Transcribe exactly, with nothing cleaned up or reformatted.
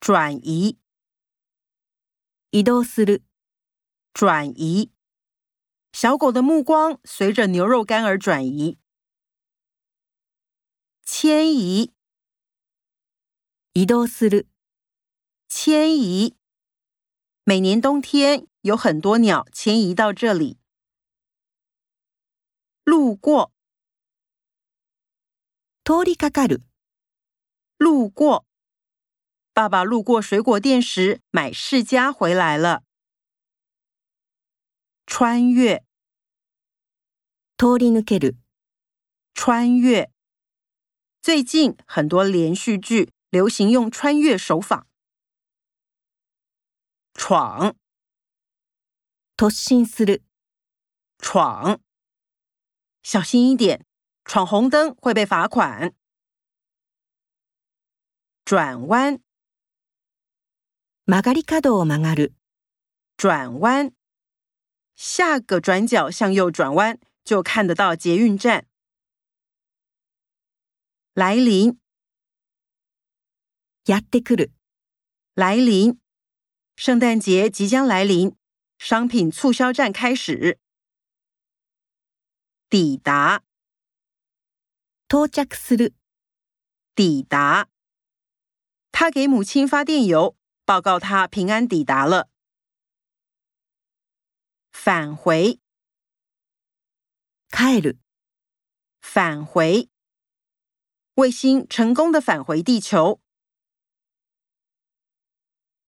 转移。 移動する。 转移。小狗的目光随着牛肉干而转移。迁移。 移動する。 迁移。每年冬天有很多鸟迁移到这里。路过。 通りかかる。 路过。爸爸路过水果店时买释迦回来了。穿越。 通り抜ける。 穿越。最近很多连续剧流行用穿越手法。闯。 突進する。 闯。小心一点，闯红灯会被罚款。转弯。 曲がり角を曲がる。 转弯。下个转角向右转弯，就看得到捷运站。来临。 やってくる。 来临。圣诞节即将来临，商品促销战开始。抵达。 到着する。 抵达。他给母亲发电邮，报告他平安抵达了。返回。 帰る。 返回。卫星成功的返回地球，